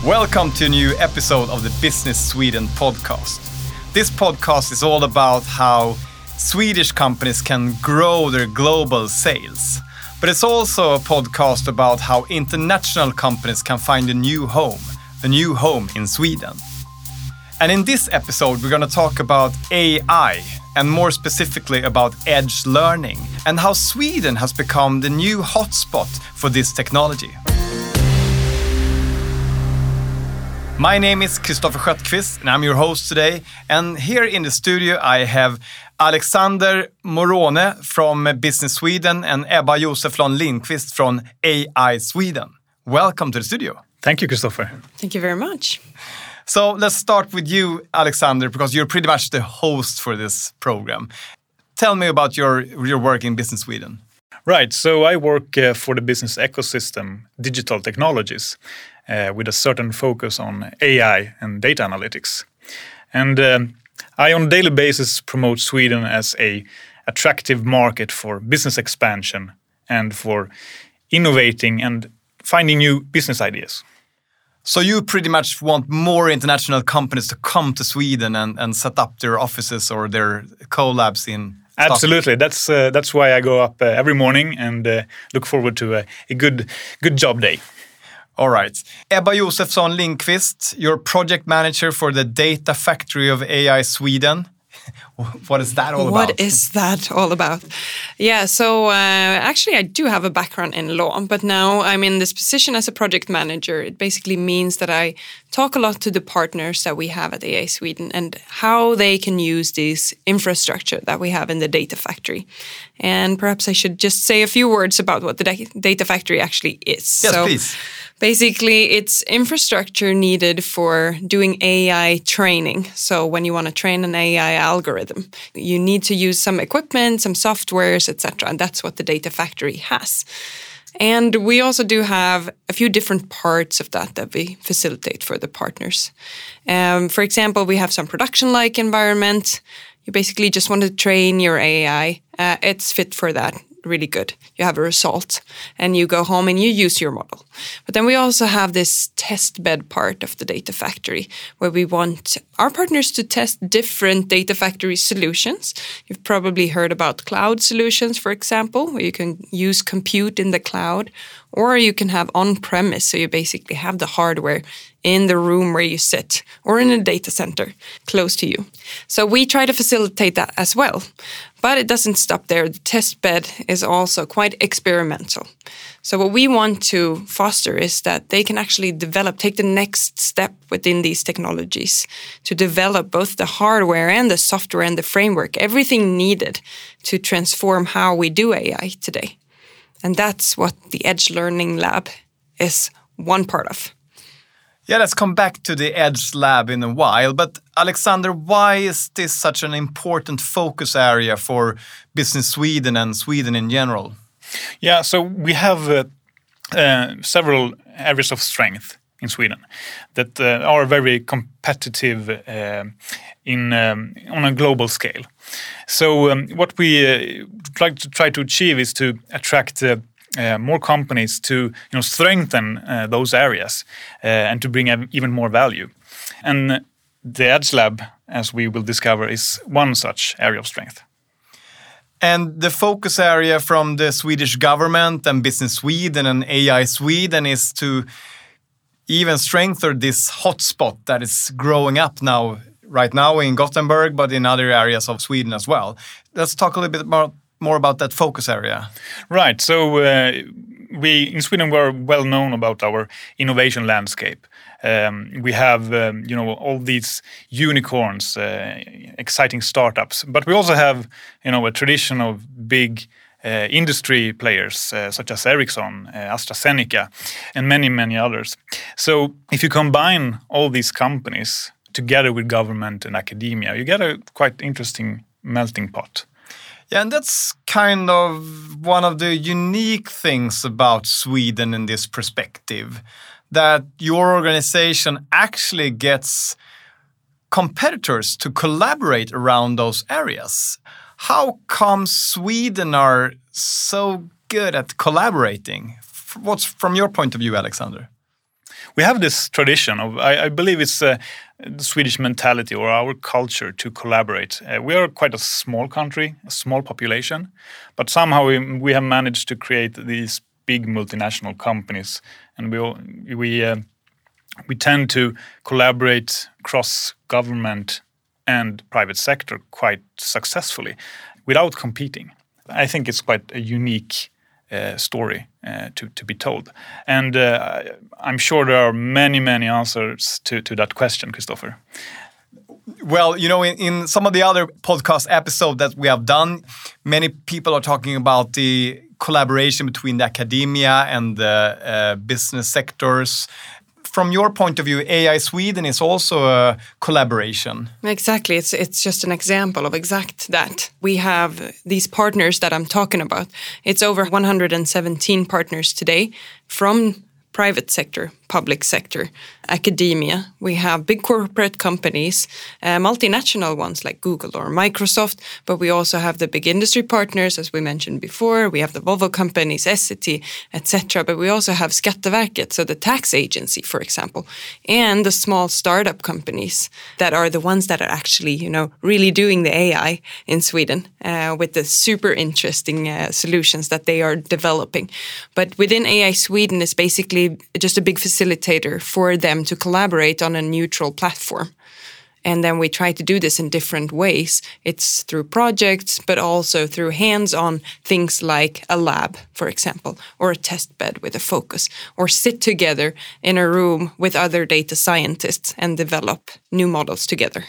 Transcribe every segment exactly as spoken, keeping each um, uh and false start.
Welcome to a new episode of the Business Sweden podcast. This podcast is all about how Swedish companies can grow their global sales. But it's also a podcast about how international companies can find a new home, a new home in Sweden. And in this episode, we're going to talk about A I, and more specifically about edge learning, and how Sweden has become the new hotspot for this technology. My name is Kristoffer Skötqvist, and I'm your host today. And here in the studio, I have Alexander Morone from Business Sweden and Ebba Joseflon Lindqvist from A I Sweden. Welcome to the studio. Thank you, Kristoffer. Thank you very much. So let's start with you, Alexander, because you're pretty much the host for this program. Tell me about your, your work in Business Sweden. Right, so I work uh, for the business ecosystem, digital technologies, uh, with a certain focus on A I and data analytics. And um, I, on a daily basis, promote Sweden as a attractive market for business expansion and for innovating and finding new business ideas. So you pretty much want more international companies to come to Sweden and, and set up their offices or their collabs in Stockholm? Absolutely. That's uh, that's why I go up uh, every morning and uh, look forward to a, a good good job day. All right. Ebba Josefsson Lindqvist, you're project manager for the Data Factory of A I Sweden. What is that all about? What is that all about? Yeah, so uh, actually I do have a background in law, but now I'm in this position as a project manager. It basically means that I talk a lot to the partners that we have at A I Sweden and how they can use this infrastructure that we have in the Data Factory. And perhaps I should just say a few words about what the da- Data Factory actually is. Yes, so, please. Basically, it's infrastructure needed for doing A I training. So when you want to train an A I algorithm, you need to use some equipment, some softwares, et cetera. And that's what the Data Factory has. And we also do have a few different parts of that that we facilitate for the partners. Um, for example, we have some production-like environment. You basically just want to train your A I. Uh, it's fit for that. Really good. You have a result and you go home and you use your model. But then we also have this test bed part of the Data Factory where we want our partners to test different Data Factory solutions. You've probably heard about cloud solutions, for example, where you can use compute in the cloud, or you can have on-premise, so you basically have the hardware in the room where you sit or in a data center close to you. So we try to facilitate that as well. But it doesn't stop there. The test bed is also quite experimental. So what we want to foster is that they can actually develop, take the next step within these technologies to develop both the hardware and the software and the framework, everything needed to transform how we do A I today. And that's what the Edge Learning Lab is one part of. Yeah, let's come back to the Edge Lab in a while. But Alexander, why is this such an important focus area for Business Sweden and Sweden in general? Yeah, so we have uh, uh, several areas of strength in Sweden that uh, are very competitive uh, in um, on a global scale. So um, what we uh, like to try to achieve is to attract uh, Uh, more companies to you know strengthen uh, those areas uh, and to bring even more value. And the Edge Lab, as we will discover, is one such area of strength. And the focus area from the Swedish government and Business Sweden and A I Sweden is to even strengthen this hotspot that is growing up now, right now in Gothenburg, but in other areas of Sweden as well. Let's talk a little bit more more about that focus area. Right. So uh, we in Sweden we're well known about our innovation landscape. Um, we have um, you know all these unicorns, uh, exciting startups, but we also have you know a tradition of big uh, industry players uh, such as Ericsson, uh, AstraZeneca, and many many others. So if you combine all these companies together with government and academia, you get a quite interesting melting pot. Yeah, and that's kind of one of the unique things about Sweden in this perspective, that your organization actually gets competitors to collaborate around those areas. How come Sweden are so good at collaborating? What's from your point of view, Alexander? we have this tradition of, I, I believe it's uh, the Swedish mentality or our culture to collaborate. Uh, we are quite a small country, a small population, but somehow we, we have managed to create these big multinational companies, and we all, we uh, we tend to collaborate across government and private sector quite successfully without competing. I think it's quite a unique uh, story uh, to, to be told. And uh, I'm sure there are many, many answers to, to that question, Christopher. Well, you know, in, in some of the other podcast episodes that we have done, many people are talking about the collaboration between the academia and the uh, business sectors. From your point of view, A I Sweden is also a collaboration. Exactly. It's it's just an example of exact that. We have these partners that I'm talking about. It's over one hundred seventeen partners today from private sector, public sector, academia. We have big corporate companies, uh, multinational ones like Google or Microsoft, but we also have the big industry partners, as we mentioned before. We have the Volvo companies, Essity, et cetera. But we also have Skatteverket, so the tax agency, for example, and the small startup companies that are the ones that are actually, you know, really doing the A I in Sweden uh, with the super interesting uh, solutions that they are developing. But within A I Sweden is basically just a big facilitator for them to collaborate on a neutral platform. And then we try to do this in different ways. It's through projects, but also through hands-on things like a lab, for example, or a test bed with a focus, or sit together in a room with other data scientists and develop new models together.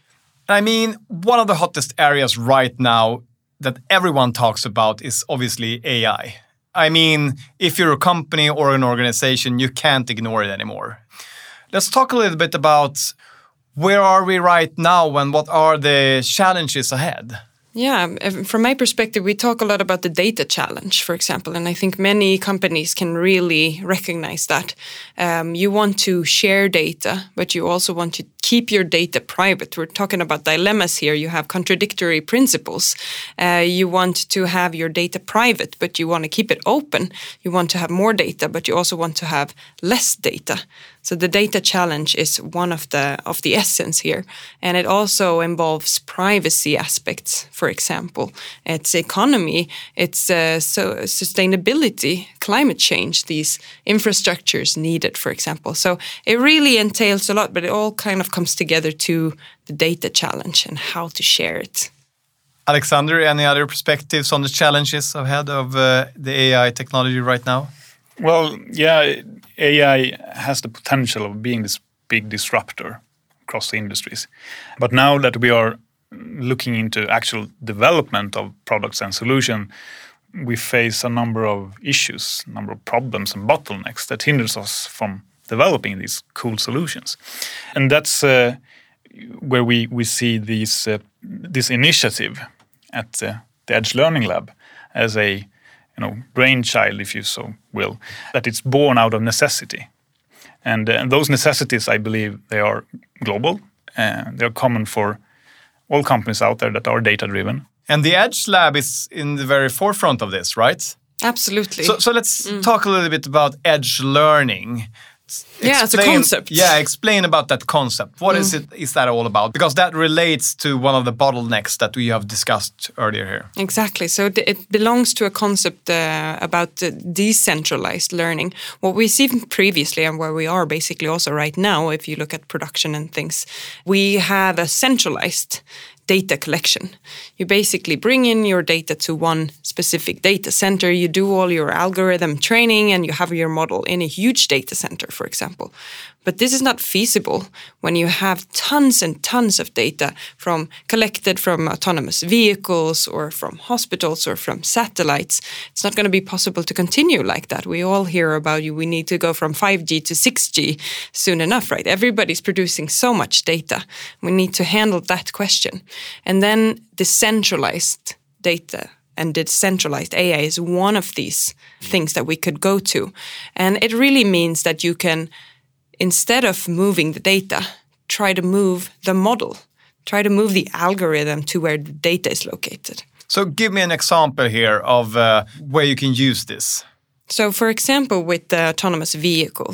I mean, one of the hottest areas right now that everyone talks about is obviously A I. I mean, if you're a company or an organization, you can't ignore it anymore. Let's talk a little bit about where are we right now and what are the challenges ahead? Yeah, from my perspective, we talk a lot about the data challenge, for example, and I think many companies can really recognize that. Um, you want to share data, but you also want to keep your data private. We're talking about dilemmas here. You have contradictory principles. Uh, you want to have your data private, but you want to keep it open. You want to have more data, but you also want to have less data. So the data challenge is one of the of the essence here. And it also involves privacy aspects, for example. It's economy, it's uh, so sustainability, climate change, these infrastructures needed, for example. So it really entails a lot, but it all kind of comes together to the data challenge and how to share it. Alexander, any other perspectives on the challenges ahead of uh, the A I technology right now? Well, yeah, A I has the potential of being this big disruptor across the industries. But now that we are looking into actual development of products and solutions, we face a number of issues, a number of problems and bottlenecks that hinders us from developing these cool solutions. And that's uh, where we, we see these, uh, this initiative at uh, the Edge Learning Lab as a you know, brainchild, if you so will, that it's born out of necessity. And, uh, and those necessities, I believe, they are global. Uh, they're common for all companies out there that are data-driven. And the Edge Lab is in the very forefront of this, right? Absolutely. So, so let's mm. talk a little bit about Edge Learning. Explain, yeah, it's a concept. Yeah, explain about that concept. What mm. is it? Is that all about? Because that relates to one of the bottlenecks that we have discussed earlier here. Exactly. So it belongs to a concept uh, about uh, decentralized learning. What we've seen previously and where we are basically also right now, if you look at production and things, we have a centralized data collection. You basically bring in your data to one specific data center, you do all your algorithm training, and you have your model in a huge data center, for example. But this is not feasible when you have tons and tons of data from collected from autonomous vehicles or from hospitals or from satellites. It's not going to be possible to continue like that. We all hear about you. We need to go from five G to six G soon enough, right? Everybody's producing so much data. We need to handle that question. And then decentralized data and decentralized A I is one of these things that we could go to. And it really means that you can, instead of moving the data, try to move the model, try to move the algorithm to where the data is located. So give me an example here of uh, where you can use this. So for example, with the autonomous vehicles,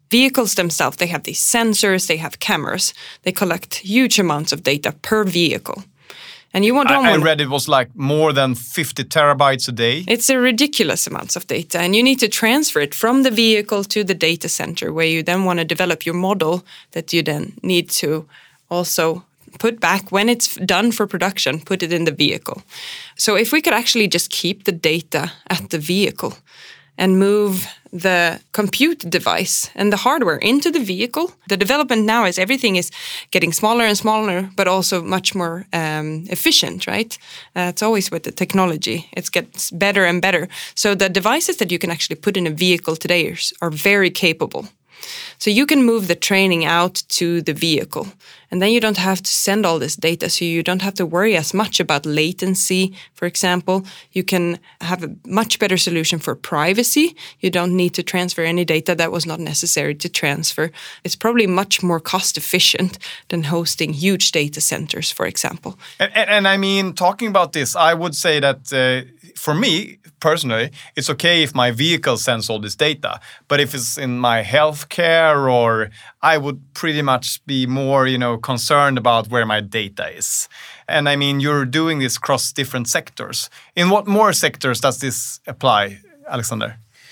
vehicles themselves, they have these sensors, they have cameras. They collect huge amounts of data per vehicle. And you don't I, want... I read it was like more than fifty terabytes a day. It's a ridiculous amounts of data, and you need to transfer it from the vehicle to the data center, where you then want to develop your model that you then need to also put back when it's done for production, put it in the vehicle. So if we could actually just keep the data at the vehicle and move the compute device and the hardware into the vehicle. The development now is everything is getting smaller and smaller, but also much more um, efficient, right? Uh, it's always with the technology. It gets better and better. So the devices that you can actually put in a vehicle today are, are very capable. So you can move the training out to the vehicle, and then you don't have to send all this data. So you don't have to worry as much about latency, for example. You can have a much better solution for privacy. You don't need to transfer any data that was not necessary to transfer. It's probably much more cost efficient than hosting huge data centers, for example. And, and, and I mean, talking about this, I would say that uh, for me, personally, it's okay if my vehicle sends all this data. But if it's in my healthcare, or I would pretty much be more, you know, concerned about where my data is. And I mean, you're doing this across different sectors. In what more sectors does this apply, Alexander?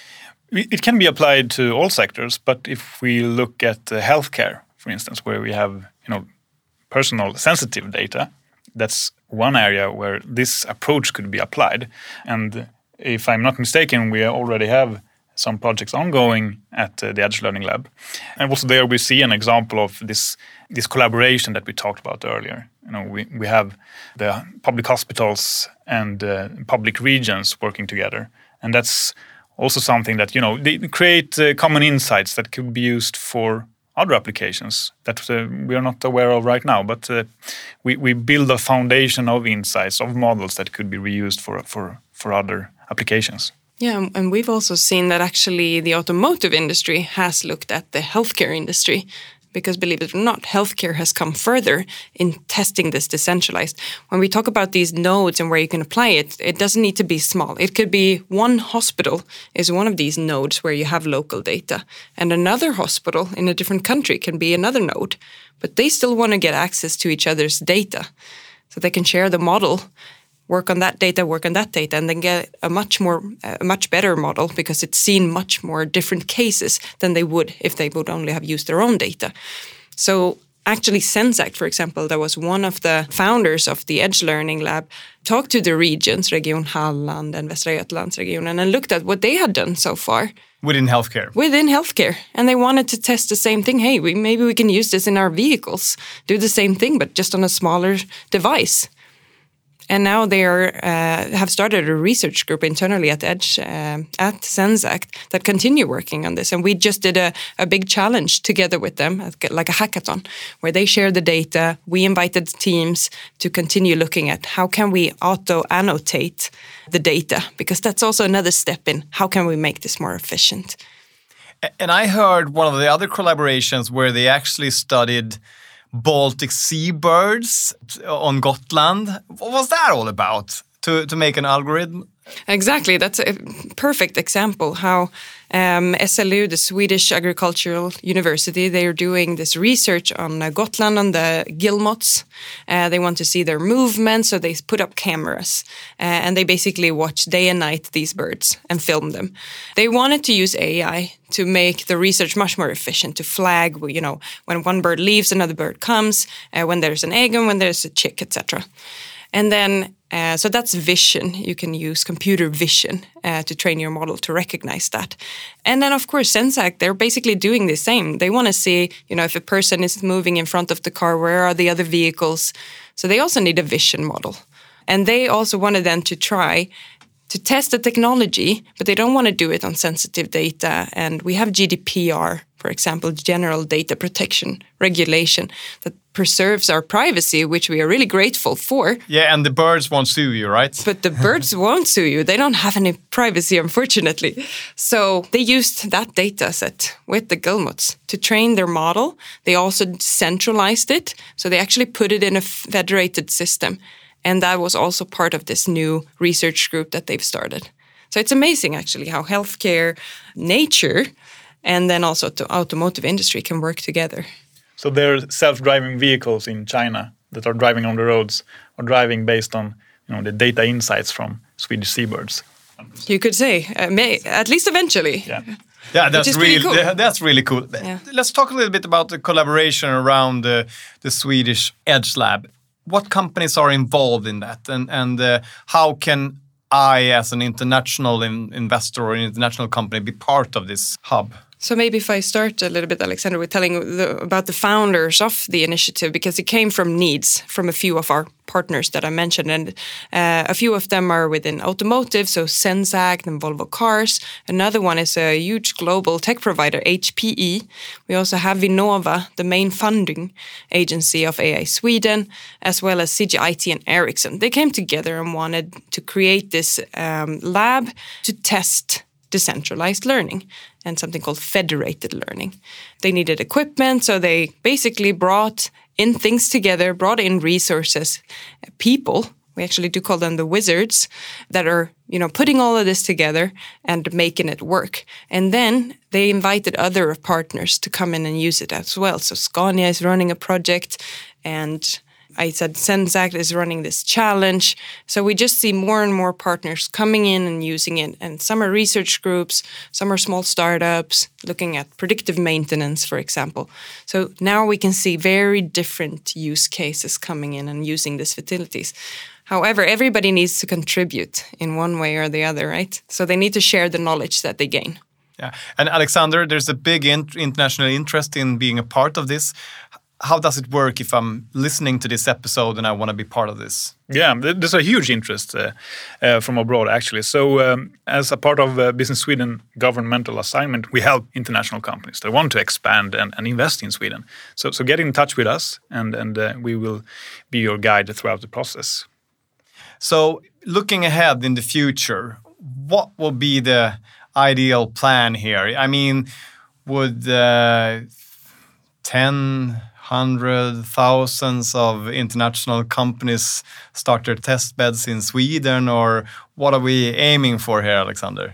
It can be applied to all sectors, but if we look at uh, healthcare, for instance, where we have, you know, personal sensitive data, that's one area where this approach could be applied. And if I'm not mistaken, we already have some projects ongoing at uh, the Edge Learning Lab. And also there we see an example of this this collaboration that we talked about earlier. You know, we, we have the public hospitals and uh, public regions working together. And that's also something that, you know, they create uh, common insights that could be used for other applications that uh, we are not aware of right now. But uh, we, we build a foundation of insights, of models that could be reused for for, for other applications. Yeah, and we've also seen that actually the automotive industry has looked at the healthcare industry, because believe it or not, healthcare has come further in testing this decentralized. When we talk about these nodes and where you can apply it, it doesn't need to be small. It could be one hospital is one of these nodes where you have local data, and another hospital in a different country can be another node, but they still want to get access to each other's data so they can share the model, work on that data, work on that data, and then get a much more, a much better model, because it's seen much more different cases than they would if they would only have used their own data. So actually Zenseact, for example, that was one of the founders of the Edge Learning Lab, talked to the regions, Region Halland and Västra Götalandsregionen, and looked at what they had done so far. Within healthcare? Within healthcare. And they wanted to test the same thing. Hey, we, maybe we can use this in our vehicles, do the same thing, but just on a smaller device. And now they are, uh, have started a research group internally at Edge, uh, at Zenseact, that continue working on this. And we just did a, a big challenge together with them, like a hackathon, where they share the data. We invited teams to continue looking at how can we auto-annotate the data, because that's also another step in how can we make this more efficient. And I heard one of the other collaborations where they actually studied Baltic sea birds on Gotland. What was that all about? To to make an algorithm? Exactly. That's a perfect example how um, S L U, the Swedish Agricultural University, they are doing this research on uh, Gotland, on the guillemots. Uh, they want to see their movement, so they put up cameras. Uh, and they basically watch day and night these birds and film them. They wanted to use A I to make the research much more efficient, to flag, you know, when one bird leaves, another bird comes, uh, when there's an egg and when there's a chick, et cetera. And then, uh, so that's vision. You can use computer vision uh, to train your model to recognize that. And then, of course, Zenseact, they're basically doing the same. They want to see, you know, if a person is moving in front of the car, where are the other vehicles? So they also need a vision model. And they also wanted then to try to test the technology, but they don't want to do it on sensitive data. And we have G D P R, for example, General Data Protection Regulation, that preserves our privacy, which we are really grateful for. Yeah, and the birds won't sue you, right? But the birds won't sue you. They don't have any privacy, unfortunately. So they used that data set with the guillemots to train their model. They also centralized it. So they actually put it in a federated system. And that was also part of this new research group that they've started. So it's amazing, actually, how healthcare, nature, and then also the automotive industry can work together. So there are self-driving vehicles in China that are driving on the roads or driving based on, you know, the data insights from Swedish seabirds. You could say, uh, may, at least eventually. Yeah. Yeah, that's is really pretty cool. that's really cool. Yeah. Let's talk a little bit about the collaboration around the, the Swedish Edge Lab. What companies are involved in that, and and uh, how can I, as an international in, investor or an international company, be part of this hub? So maybe if I start a little bit, Alexander, with telling the, about the founders of the initiative, because it came from needs from a few of our partners that I mentioned, and uh, a few of them are within automotive, so Zenseact and Volvo Cars. Another one is a huge global tech provider, H P E. We also have Vinnova, the main funding agency of A I Sweden, as well as C G I T and Ericsson. They came together and wanted to create this um, lab to test decentralized learning and something called federated learning. They needed equipment, so they basically brought in things together, brought in resources, people. We actually do call them the wizards that are, you know, putting all of this together and making it work. And then they invited other partners to come in and use it as well. So Scania is running a project, and I said Zenseact is running this challenge. So we just see more and more partners coming in and using it. And some are research groups, some are small startups looking at predictive maintenance, for example. So now we can see very different use cases coming in and using these facilities. However, everybody needs to contribute in one way or the other, right? So they need to share the knowledge that they gain. Yeah, and Alexander, there's a big in- international interest in being a part of this. How does it work if I'm listening to this episode and I want to be part of this? Yeah, there's a huge interest uh, uh, from abroad, actually. So um, as a part of uh, Business Sweden governmental assignment, we help international companies that want to expand and, and invest in Sweden. So so get in touch with us, and, and uh, we will be your guide throughout the process. So looking ahead in the future, what will be the ideal plan here? I mean, would uh, ten, hundred, thousands of international companies start their test beds in Sweden, or what are we aiming for here, Alexander?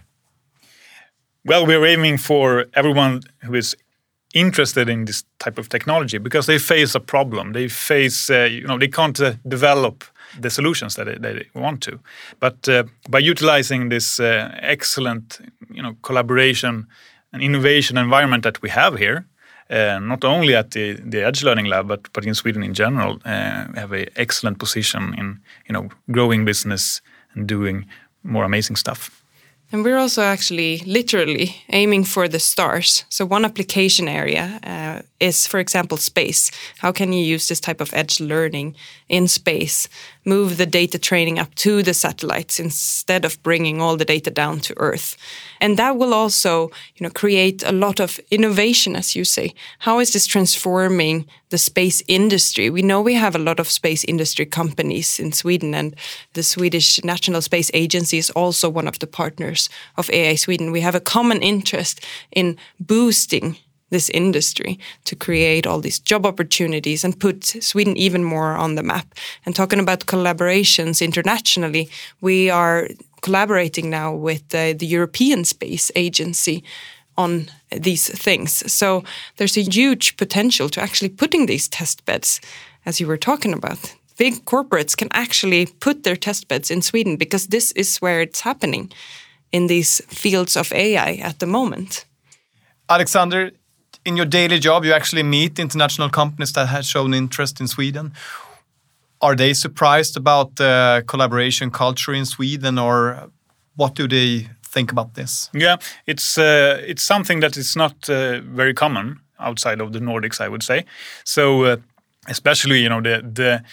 Well, we're aiming for everyone who is interested in this type of technology, because they face a problem. They face, uh, you know, they can't uh, develop the solutions that they, they want to. But uh, by utilizing this uh, excellent, you know, collaboration and innovation environment that we have here, uh, not only at the, the Edge Learning Lab, but but in Sweden in general, uh, we have an excellent position in, you know, growing business and doing more amazing stuff. And we're also actually literally aiming for the stars. So one application area uh, is, for example, space. How can you use this type of edge learning in space, move the data training up to the satellites instead of bringing all the data down to Earth? And that will also, you know, create a lot of innovation, as you say. How is this transforming the space industry? We know we have a lot of space industry companies in Sweden, and the Swedish National Space Agency is also one of the partners of A I Sweden. We have a common interest in boosting this industry to create all these job opportunities and put Sweden even more on the map. And talking about collaborations internationally, we are collaborating now with uh, the European Space Agency on these things. So there's a huge potential to actually putting these test beds, as you were talking about. Big corporates can actually put their test beds in Sweden because this is where it's happening in these fields of A I at the moment. Alexander, in your daily job, you actually meet international companies that have shown interest in Sweden. Are they surprised about the collaboration culture in Sweden, or what do they think about this? Yeah, it's uh, it's something that is not uh, very common outside of the Nordics, I would say. So uh, especially, you know, the the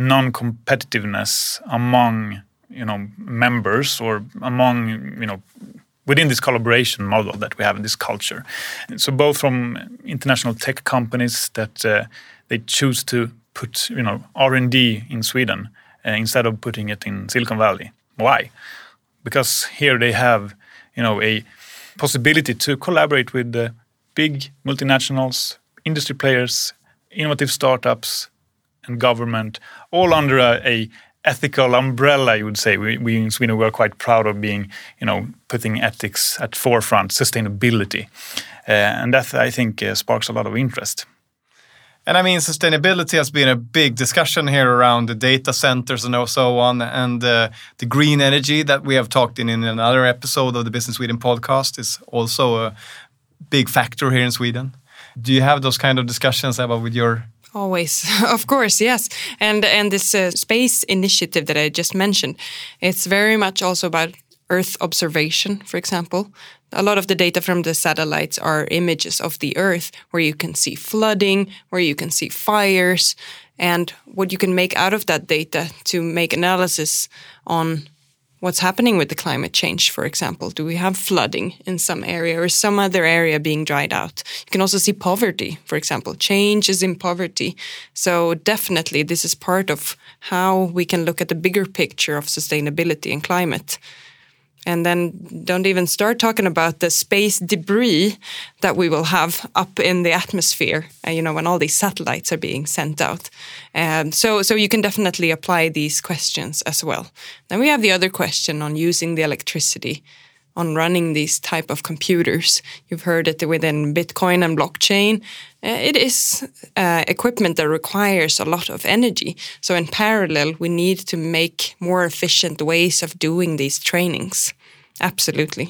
non-competitiveness among, you know, members, or among, you know, within this collaboration model that we have in this culture. So both from international tech companies that uh, they choose to put, you know, R and D in Sweden uh, instead of putting it in Silicon Valley. Why? Because here they have, you know, a possibility to collaborate with the big multinationals, industry players, innovative startups, and government, all under a, a ethical umbrella, you would say. We, we in Sweden, we are quite proud of being, you know, putting ethics at forefront, sustainability. Uh, and that, I think, uh, sparks a lot of interest. And I mean, sustainability has been a big discussion here around the data centers and so on, and uh, the green energy that we have talked in in another episode of the Business Sweden podcast is also a big factor here in Sweden. Do you have those kind of discussions about with your... Always, of course, yes. And and this uh, space initiative that I just mentioned, it's very much also about Earth observation, for example. A lot of the data from the satellites are images of the Earth where you can see flooding, where you can see fires, and what you can make out of that data to make analysis on what's happening with the climate change, for example. Do we have flooding in some area or some other area being dried out? You can also see poverty, for example. Change is in poverty. So definitely this is part of how we can look at the bigger picture of sustainability and climate. And then don't even start talking about the space debris that we will have up in the atmosphere, uh, you know, when all these satellites are being sent out. Um, so, so you can definitely apply these questions as well. Then we have the other question on using the electricity, on running these type of computers. You've heard it within Bitcoin and blockchain. Uh, it is uh, equipment that requires a lot of energy. So in parallel, we need to make more efficient ways of doing these trainings. Absolutely.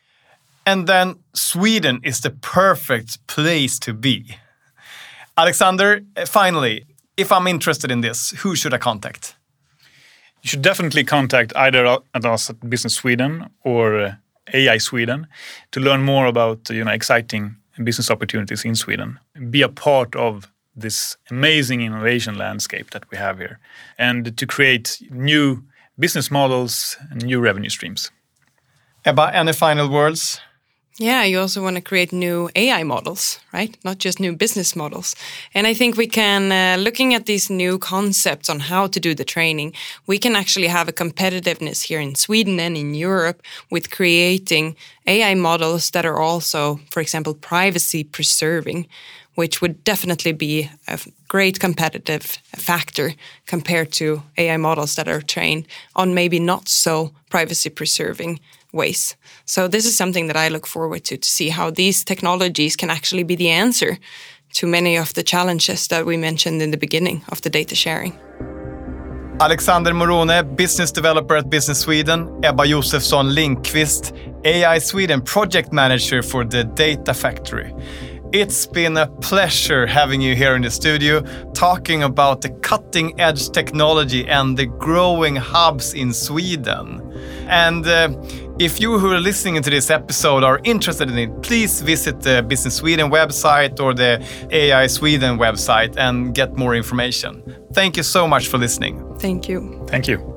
And then Sweden is the perfect place to be. Alexander, finally, if I'm interested in this, who should I contact? You should definitely contact either at us at Business Sweden or uh, A I Sweden to learn more about, you know, exciting business opportunities in Sweden. Be a part of this amazing innovation landscape that we have here, and to create new business models and new revenue streams. Ebba, any final words? Yeah, you also want to create new A I models, right? Not just new business models. And I think we can, uh, looking at these new concepts on how to do the training, we can actually have a competitiveness here in Sweden and in Europe with creating A I models that are also, for example, privacy preserving, which would definitely be a great competitive factor compared to A I models that are trained on maybe not so privacy preserving ways. So this is something that I look forward to, to see how these technologies can actually be the answer to many of the challenges that we mentioned in the beginning of the data sharing. Alexander Morone, business developer at Business Sweden. Ebba Josefsson Lindqvist, A I Sweden project manager for the Data Factory. It's been a pleasure having you here in the studio, talking about the cutting-edge technology and the growing hubs in Sweden. And uh, if you who are listening to this episode are interested in it, please visit the Business Sweden website or the A I Sweden website and get more information. Thank you so much for listening. Thank you. Thank you.